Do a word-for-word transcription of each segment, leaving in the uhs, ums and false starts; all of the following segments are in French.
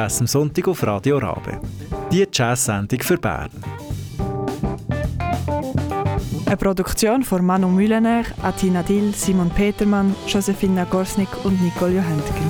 Jazz am Sonntag auf Radio Rabe. Die Jazz-Sendung für Bern. Eine Produktion von Manu Mühlener, Atina Dill, Simon Petermann, Josefina Gorsnik und Nicole Johantgen.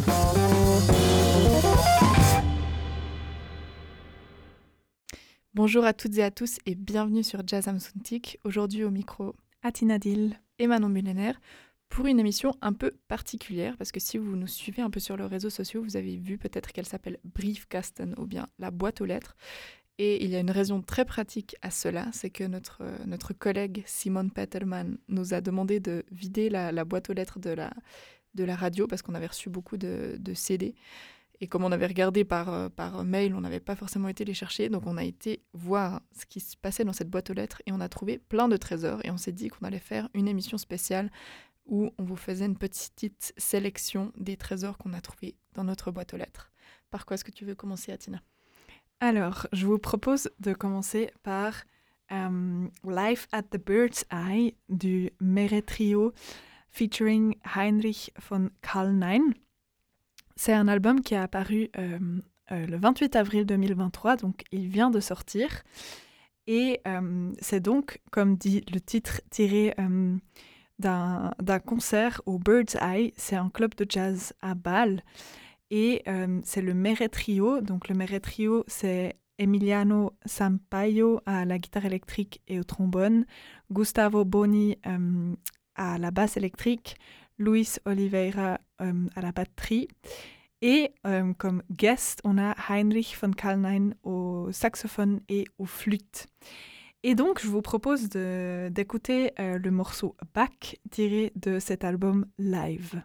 Bonjour à toutes et à tous et bienvenue sur Jazz am Sonntag. Aujourd'hui au micro Atina Dill et Manon Mühlener pour une émission un peu particulière parce que si vous nous suivez un peu sur les réseaux sociaux, vous avez vu peut-être qu'elle s'appelle Briefkasten ou bien la boîte aux lettres. Et il y a une raison très pratique à cela, c'est que notre, euh, notre collègue Simon Petermann nous a demandé de vider la, la boîte aux lettres de la, de la radio parce qu'on avait reçu beaucoup de, de C D. Et comme on avait regardé par, euh, par mail, on n'avait pas forcément été les chercher. Donc on a été voir ce qui se passait dans cette boîte aux lettres et on a trouvé plein de trésors. Et on s'est dit qu'on allait faire une émission spéciale où on vous faisait une petite sélection des trésors qu'on a trouvés dans notre boîte aux lettres. Par quoi est-ce que tu veux commencer, Atina ? Alors, je vous propose de commencer par um, Live at the Bird's Eye du Meret Trio featuring Heinrich von Kalnein. C'est un album qui est apparu euh, euh, le vingt-huit avril deux mille vingt-trois, donc il vient de sortir. Et euh, c'est donc, comme dit le titre, tiré euh, d'un, d'un concert au Bird's Eye. C'est un club de jazz à Bâle. Et euh, c'est le Meret Trio. Donc le Meret Trio, c'est Emiliano Sampaio à la guitare électrique et au trombone, Gustavo Boni euh, à la basse électrique, Luis Oliveira euh, à la batterie. Et euh, comme guest, on a Heinrich von Kalnein au saxophone et aux flûtes. Et donc, je vous propose de, d'écouter euh, le morceau Back tiré de cet album live.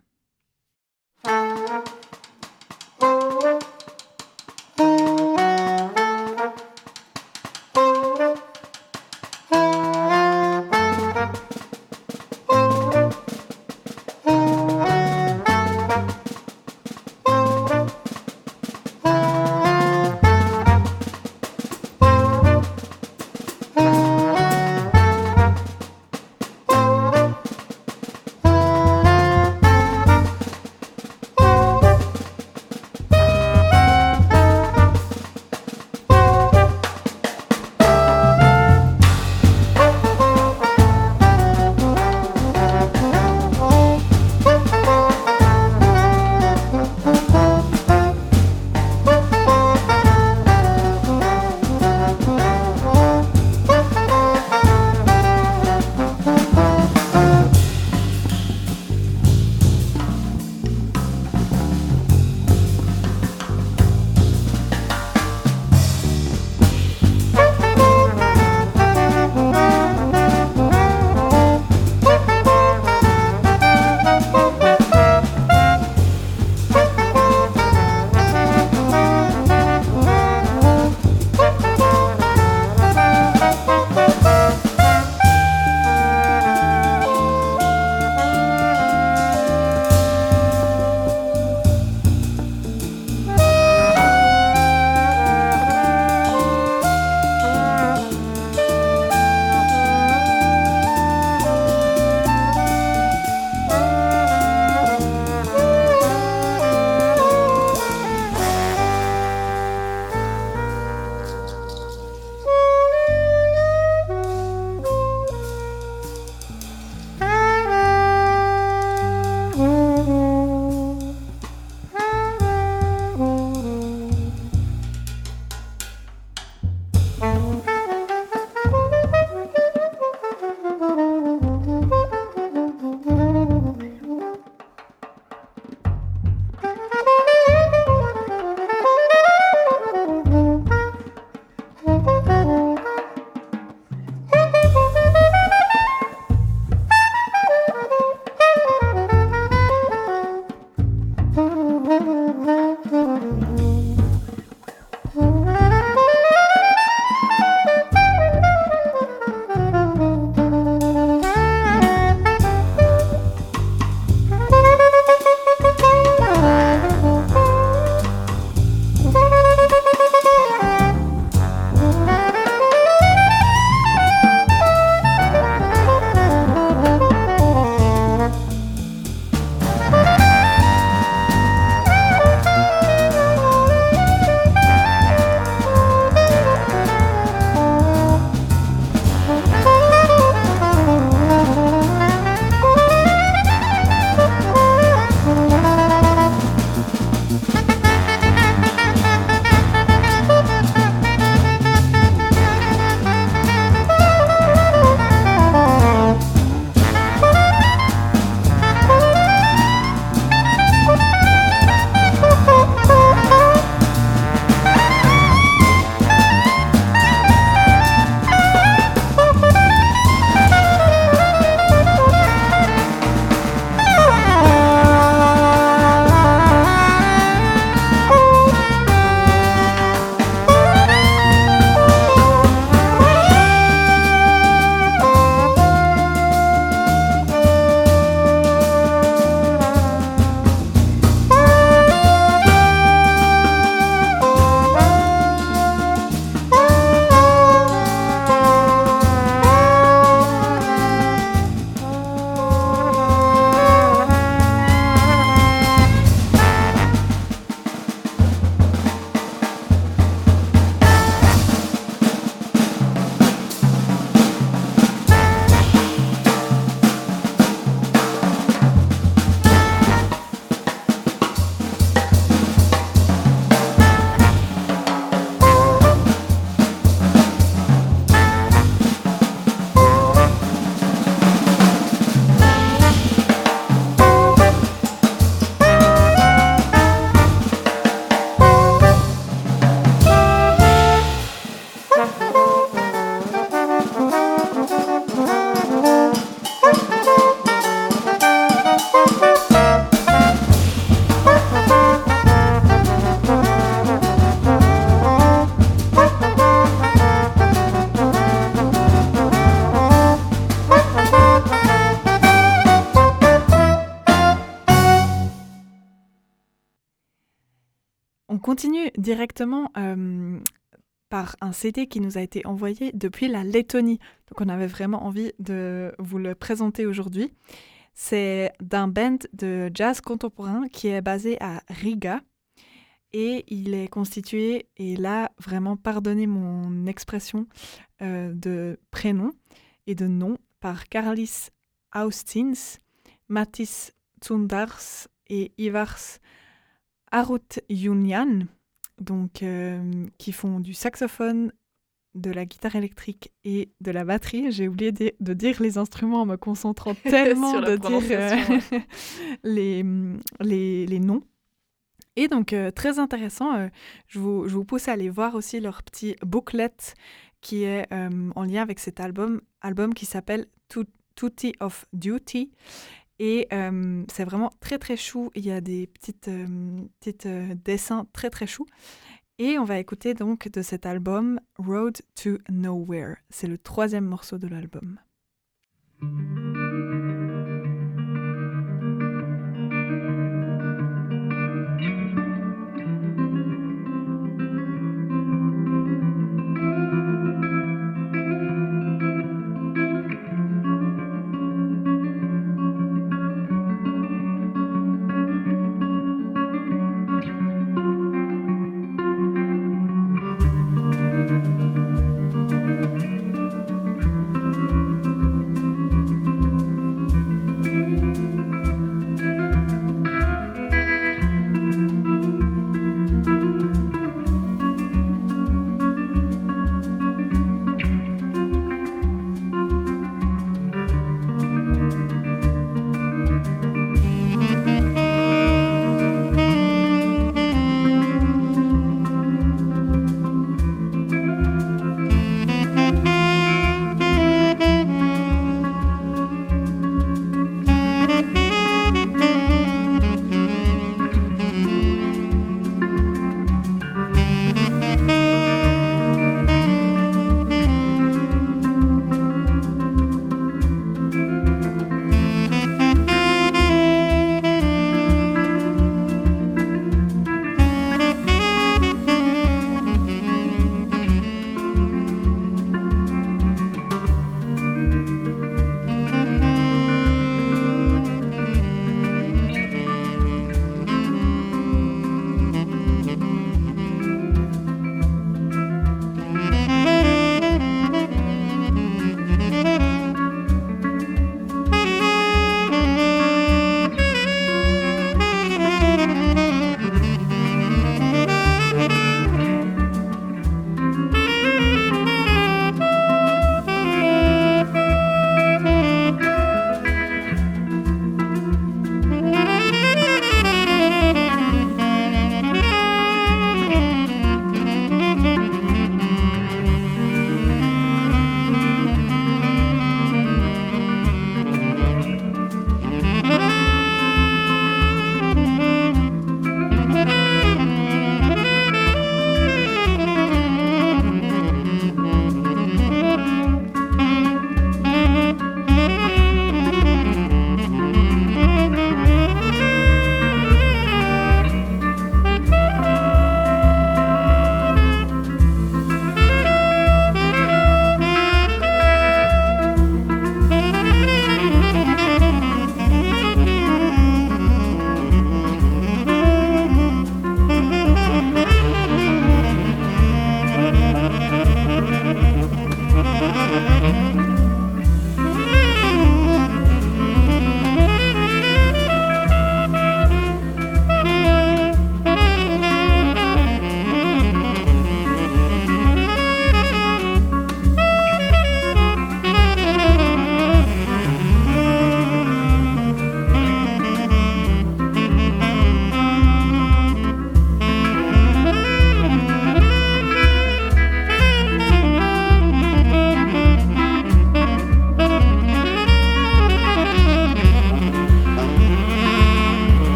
continue directement euh, par un C D qui nous a été envoyé depuis la Lettonie. Donc on avait vraiment envie de vous le présenter aujourd'hui. C'est d'un band de jazz contemporain qui est basé à Riga. Et il est constitué, et là, vraiment, pardonnez mon expression euh, de prénom et de nom, par Karlis Austins, Matis Tsundars et Ivars Arutjunjan, donc euh, qui font du saxophone, de la guitare électrique et de la batterie. J'ai oublié de, de dire les instruments en me concentrant tellement de dire euh, les, les, les noms. Et donc, euh, très intéressant, euh, je, vous, je vous pousse à aller voir aussi leur petit booklet qui est euh, en lien avec cet album, album qui s'appelle Tutti of Duty. Et euh, c'est vraiment très très chou, il y a des petites, euh, petites euh, dessins très très chou. Et on va écouter donc de cet album Road to Nowhere. C'est le troisième morceau de l'album.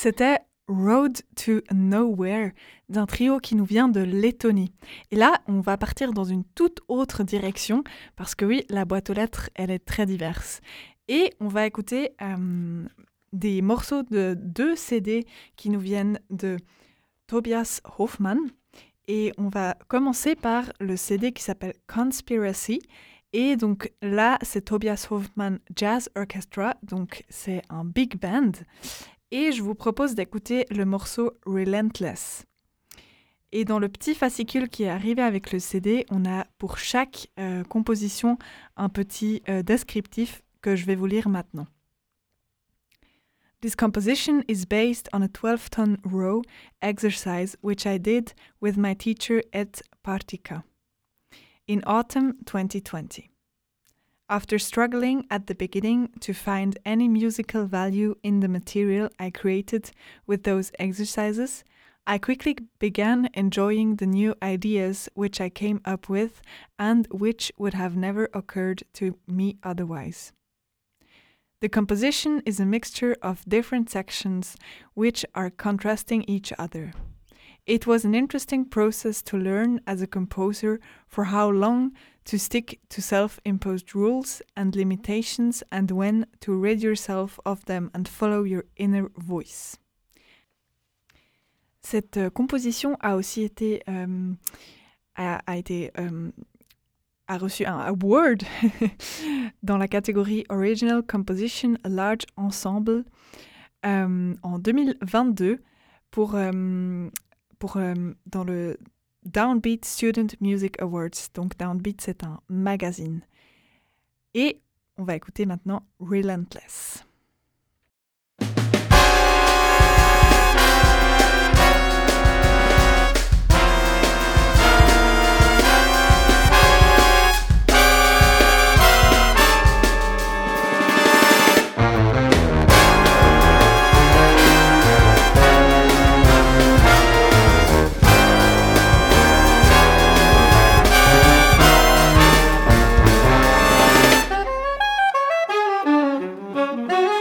C'était Road to Nowhere, d'un trio qui nous vient de Lettonie. Et là, on va partir dans une toute autre direction, parce que oui, la boîte aux lettres, elle est très diverse. Et on va écouter euh, des morceaux de deux C D qui nous viennent de Tobias Hoffmann. Et on va commencer par le C D qui s'appelle Conspiracy. Et donc là, c'est Tobias Hoffmann Jazz Orchestra, donc c'est un big band. Et je vous propose d'écouter le morceau Relentless. Et dans le petit fascicule qui est arrivé avec le C D, on a pour chaque euh, composition un petit euh, descriptif que je vais vous lire maintenant. This composition is based on a twelve-ton row exercise which I did with my teacher at Partika in autumn twenty twenty. After struggling at the beginning to find any musical value in the material I created with those exercises, I quickly began enjoying the new ideas which I came up with and which would have never occurred to me otherwise. The composition is a mixture of different sections which are contrasting each other. It was an interesting process to learn as a composer for how long to stick to self-imposed rules and limitations and when to rid yourself of them and follow your inner voice. Cette euh, composition a aussi été euh, a, a été euh, a reçu un award dans la catégorie Original Composition Large Ensemble euh, en deux mille vingt-deux pour euh, pour euh, dans le Downbeat Student Music Awards. Donc Downbeat, c'est un magazine. Et on va écouter maintenant Relentless. Thank you.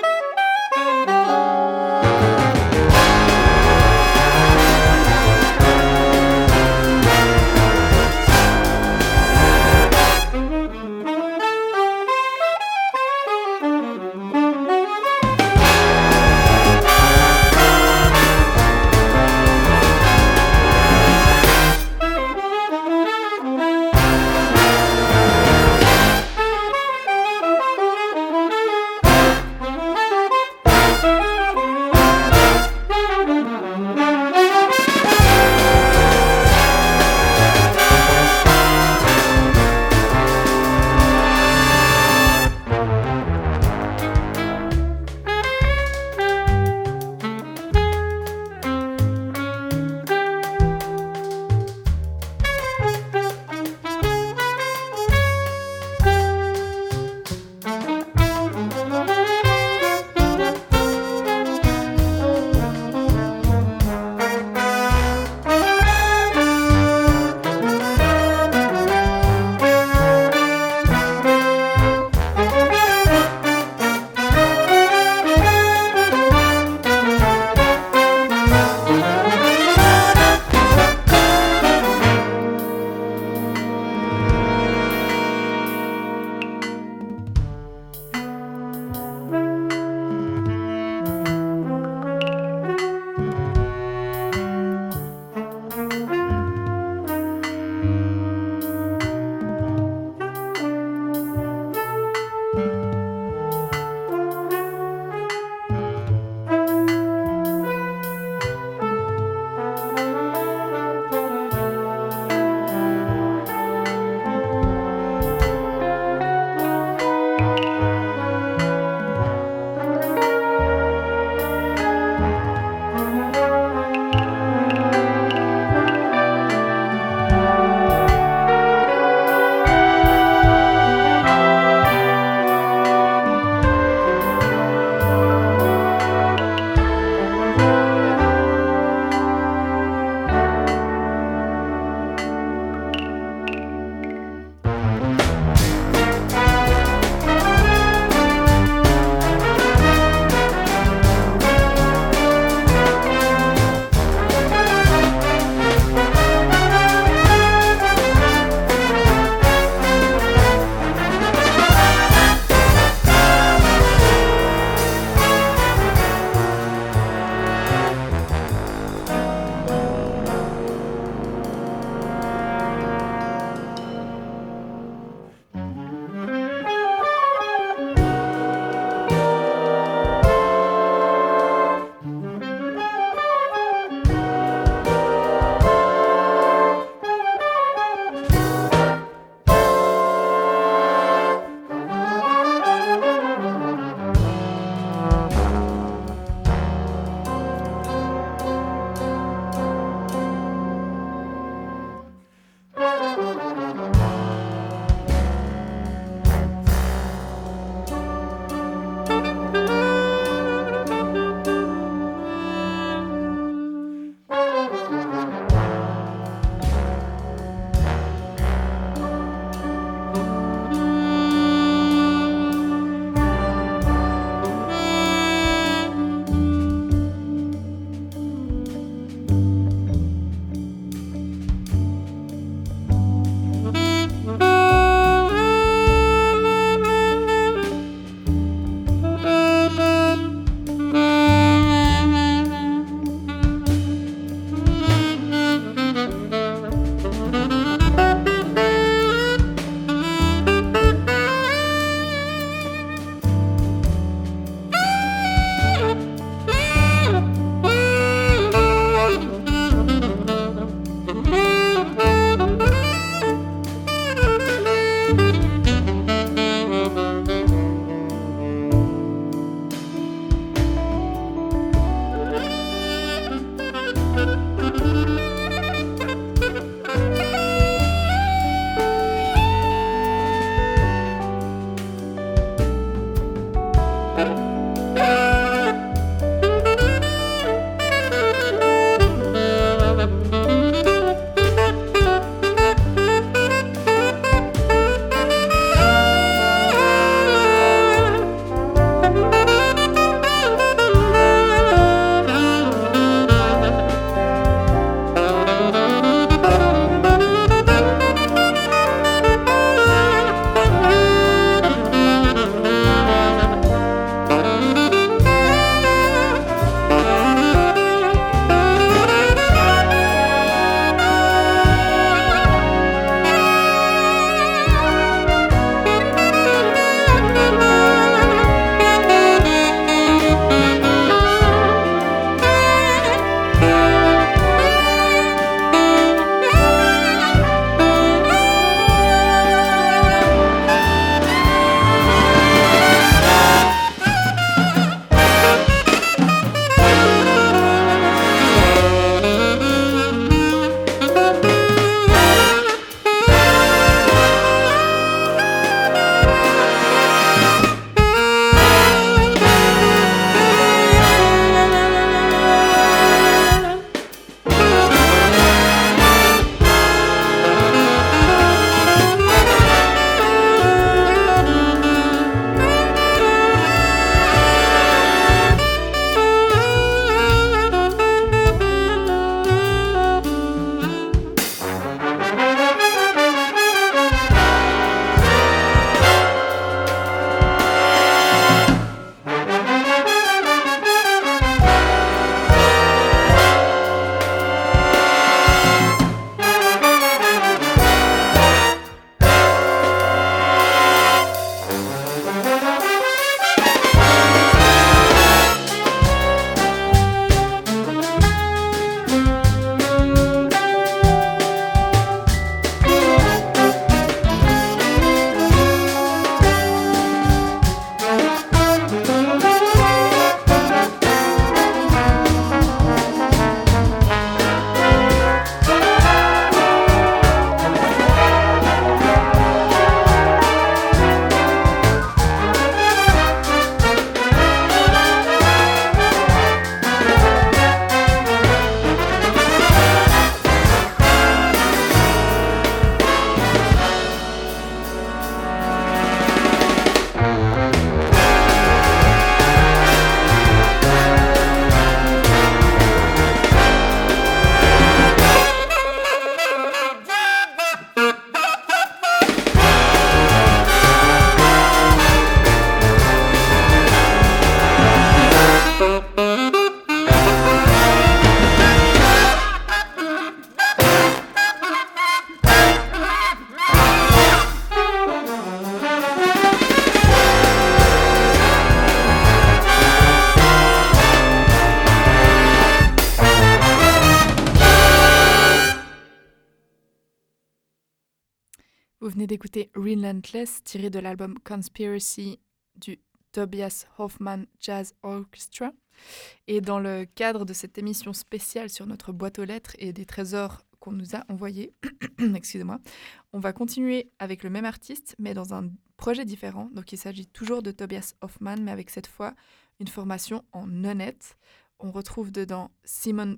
venez d'écouter Relentless, tiré de l'album Conspiracy du Tobias Hoffman Jazz Orchestra. Et dans le cadre de cette émission spéciale sur notre boîte aux lettres et des trésors qu'on nous a envoyés, excusez-moi, on va continuer avec le même artiste, mais dans un projet différent. Donc il s'agit toujours de Tobias Hoffman, mais avec cette fois une formation en nonette. On retrouve dedans Simon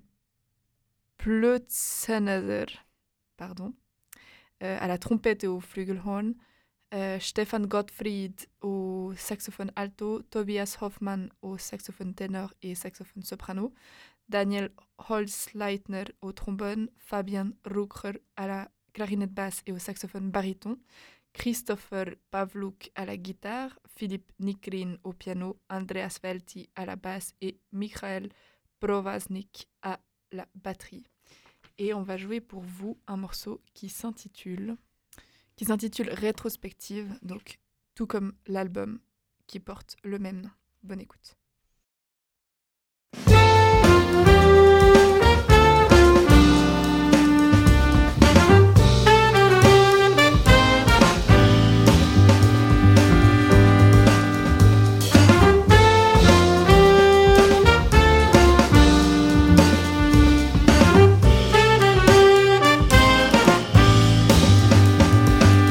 Plötzener, pardon, euh, à la trompette et au flugelhorn, euh, Stefan Gottfried au saxophone alto, Tobias Hoffman au saxophone ténor et saxophone soprano, Daniel Holzleitner au trombone, Fabian Rucker à la clarinette basse et au saxophone baryton, Christopher Pavluk à la guitare, Philippe Nikrin au piano, Andreas Velti à la basse et Michael Provaznik à la batterie. Et on va jouer pour vous un morceau qui s'intitule, qui s'intitule Rétrospective, donc tout comme l'album qui porte le même nom. Bonne écoute.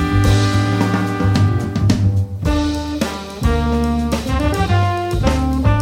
Thank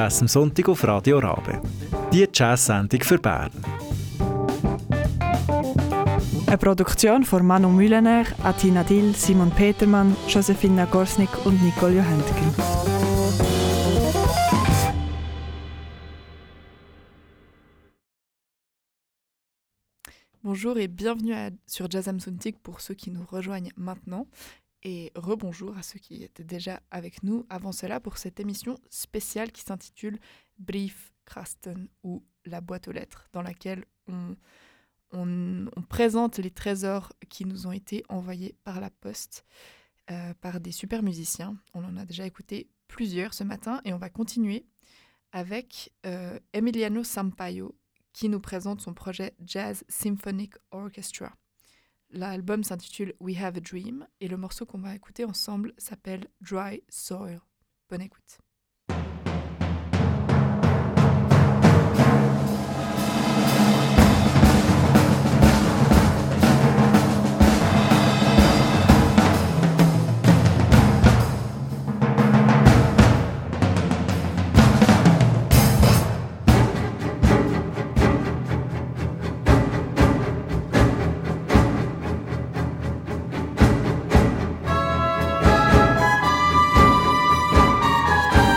Jazz am Sonntag auf Radio Rabe. Die Jazz-Sendung für Bern. Eine Produktion von Manu Mühlener, Atina Dill, Simon Petermann, Josefina Gorsnik und Nicole Johentgen. Bonjour et bienvenue à, sur Jazz am Sonntag pour ceux qui nous rejoignent maintenant. Et rebonjour à ceux qui étaient déjà avec nous avant cela pour cette émission spéciale qui s'intitule Briefkasten ou la boîte aux lettres, dans laquelle on, on, on présente les trésors qui nous ont été envoyés par la poste euh, par des super musiciens. On en a déjà écouté plusieurs ce matin et on va continuer avec euh, Emiliano Sampaio qui nous présente son projet Jazz Symphonic Orchestra. L'album s'intitule We Have a Dream et le morceau qu'on va écouter ensemble s'appelle Dry Soil. Bonne écoute. Thank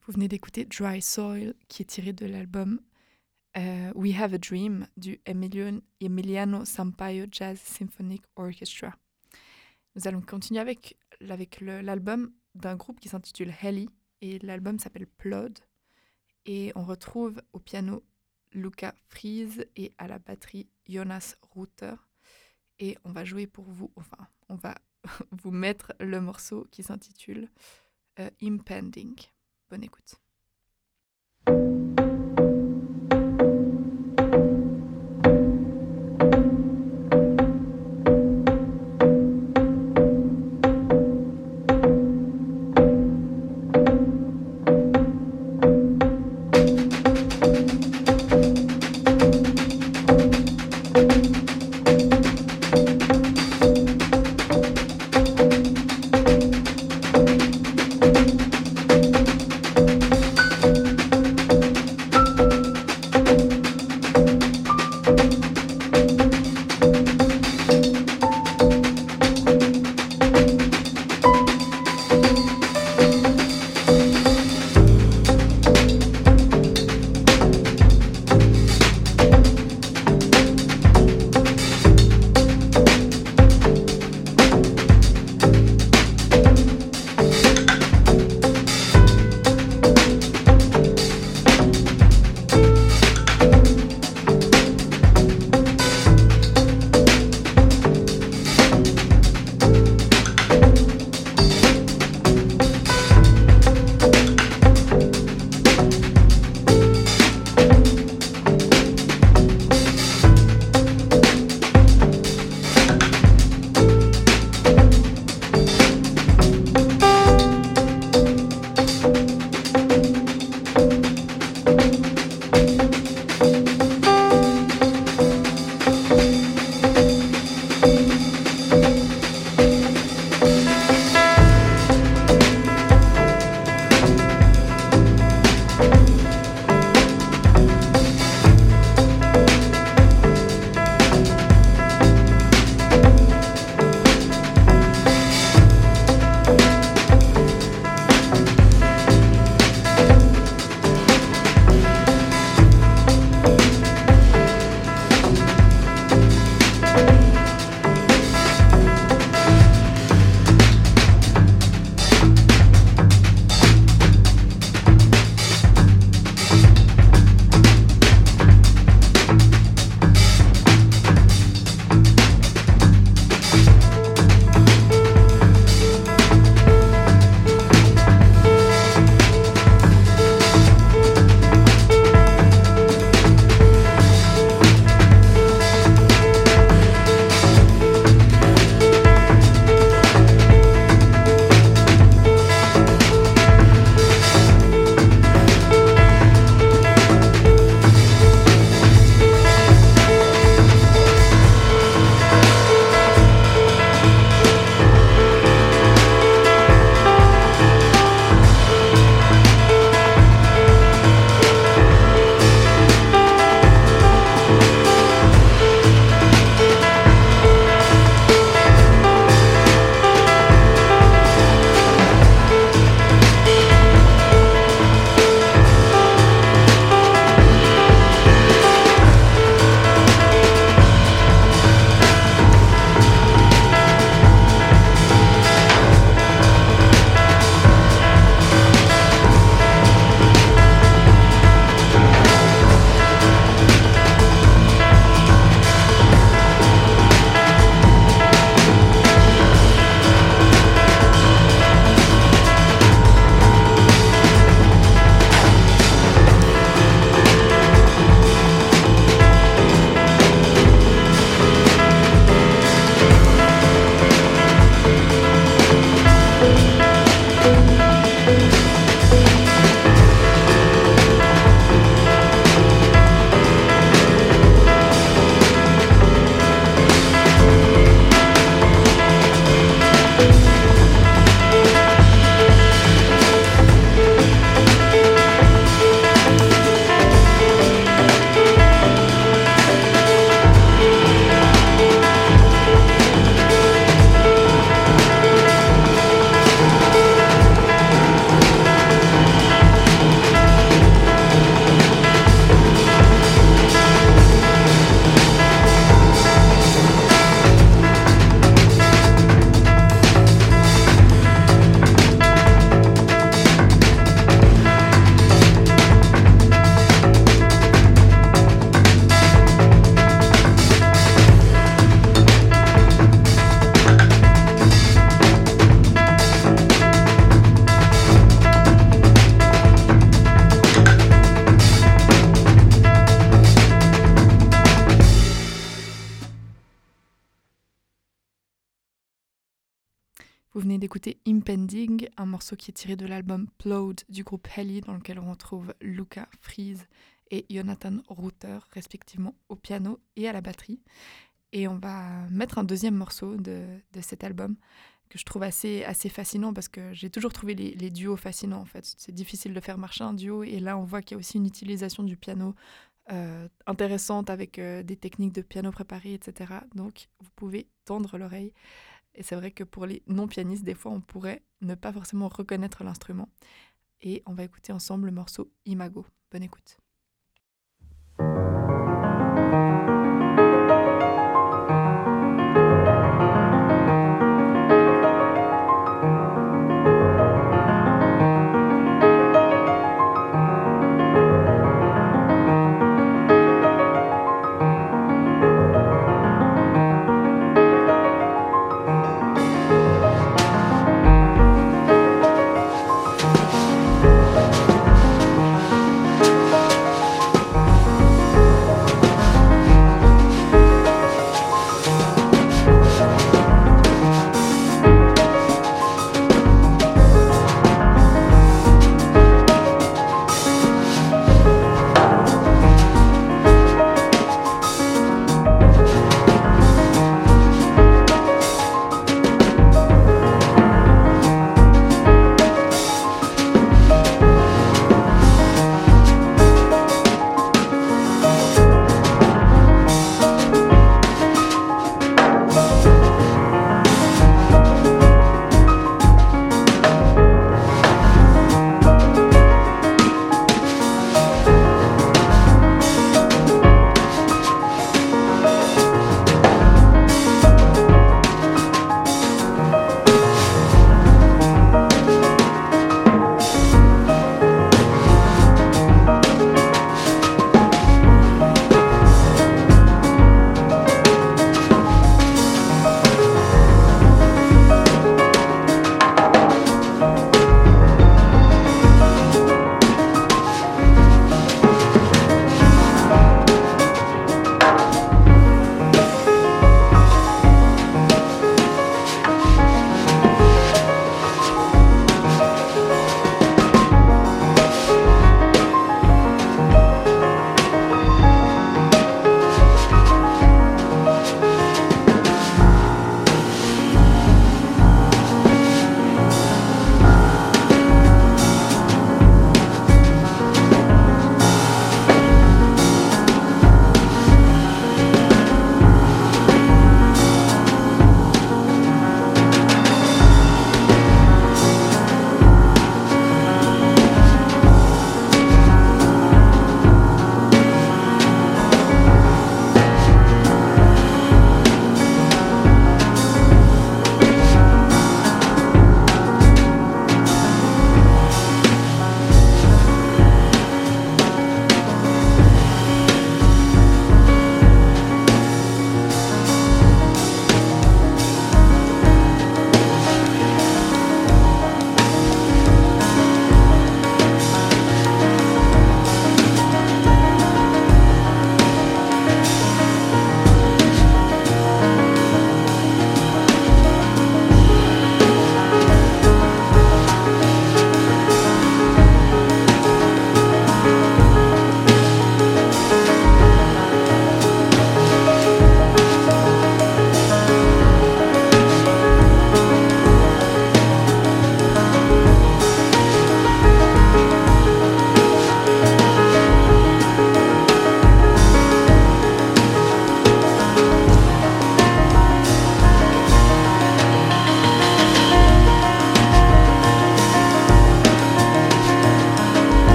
Vous venez d'écouter Dry Soil, qui est tiré de l'album euh, We Have a Dream du Emiliano, Emiliano Sampaio Jazz Symphonic Orchestra. Nous allons continuer avec, avec le, l'album d'un groupe qui s'intitule Heli, et l'album s'appelle Plod. Et on retrouve au piano Luca Fries et à la batterie Jonas Ruther. Et on va jouer pour vous, enfin, on va vous mettre le morceau qui s'intitule euh, Impending. Bonne écoute. Thank Vous venez d'écouter Impending, un morceau qui est tiré de l'album Plowed du groupe Helly, dans lequel on retrouve Luca Fries et Jonathan Ruther, respectivement au piano et à la batterie. Et on va mettre un deuxième morceau de, de cet album que je trouve assez, assez fascinant parce que j'ai toujours trouvé les, les duos fascinants en fait. C'est difficile de faire marcher un duo et là on voit qu'il y a aussi une utilisation du piano euh, intéressante avec euh, des techniques de piano préparé, et cetera. Donc vous pouvez tendre l'oreille. Et c'est vrai que pour les non-pianistes, des fois on pourrait ne pas forcément reconnaître l'instrument. Et on va écouter ensemble le morceau Imago. Bonne écoute. Thank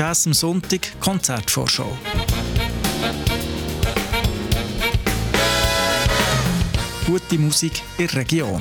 Jazz am Sonntag Konzertvorschau. Gute Musik in der Region.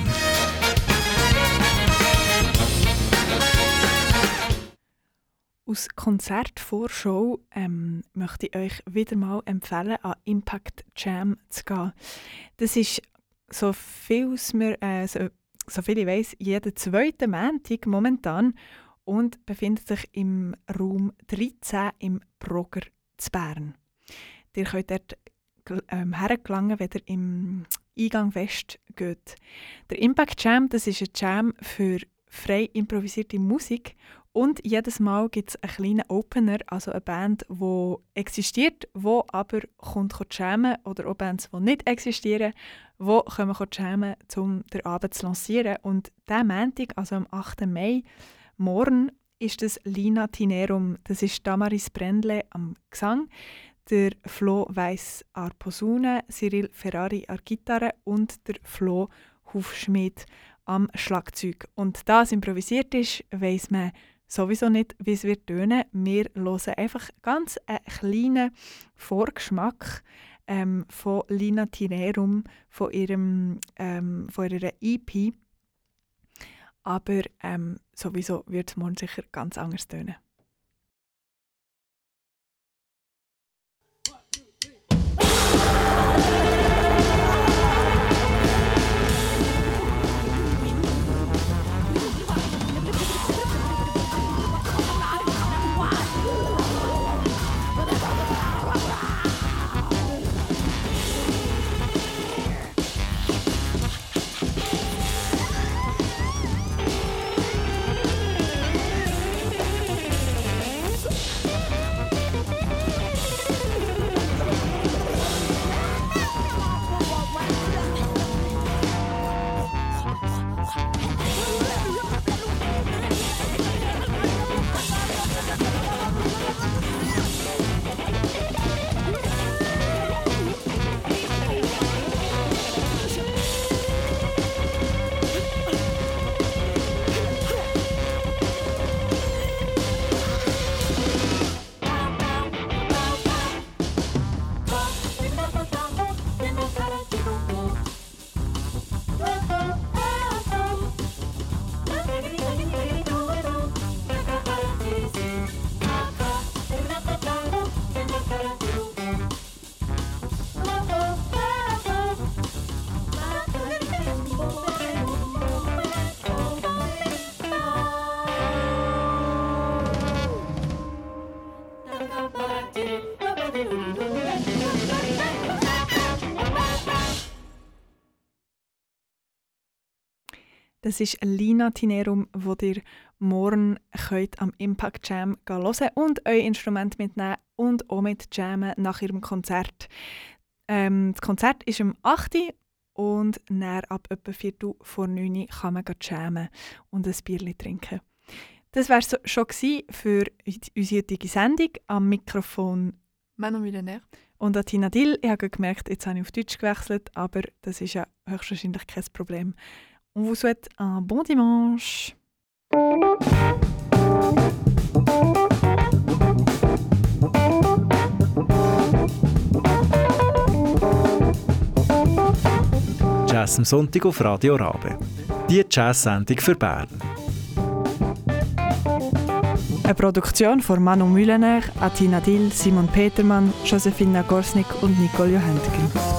Aus Konzertvorschau ähm, möchte ich euch wieder mal empfehlen, an Impact Jam zu gehen. Das ist, so viel mir, äh, so, so viel ich weiss, jeden zweiten Montag momentan und befindet sich im Raum dreizehn im Brogger zu Bern. Ihr könnt dort ähm, hergelangen, wenn ihr im Eingang fest geht. Der Impact Jam, das ist ein Jam für frei improvisierte Musik. Und jedes Mal gibt es einen kleinen Opener, also eine Band, die existiert, die aber kommt jammen, oder auch Bands, die nicht existieren, die kommen jammen, um den Abend zu lancieren. Und diesen Montag, also am achten Mai, morgen, ist das Lina Tinerum. Das ist Damaris Brendle am Gesang, der Flo Weiss an Posaune, Cyril Ferrari an Gitarre und der Flo Hufschmied am Schlagzeug. Und da es improvisiert ist, weiss man sowieso nicht, wie es wird tönen. Wir hören einfach ganz einen kleinen Vorgeschmack ähm, von Lina Tinerum, von, ihrem, ähm, von ihrer E P. Aber ähm, sowieso wird es morgen sicher ganz anders tönen. Das ist Lina Tinerum, wo ihr morgen könnt am Impact Jam hören und euer Instrument mitnehmen und auch mit jammen nach ihrem Konzert. Ähm, das Konzert ist um acht Uhr und dann ab etwa Viertel vor neun Uhr kann man jammen und ein Bierchen trinken. Das war es so, schon für unsere heutige Sendung. Am Mikrofon Manon Millionnaire und Tina Dill. Ich habe gemerkt, jetzt habe ich auf Deutsch gewechselt, aber das ist ja höchstwahrscheinlich kein Problem. On vous souhaite un bon dimanche. Jazz am Sonntag auf Radio Rabe. Die Jazz-Sendung für Bern. Eine Produktion von Manon Mühlener, Tina Dill, Simon Petermann, Josephine Gorsnick und Nicole Johantgen.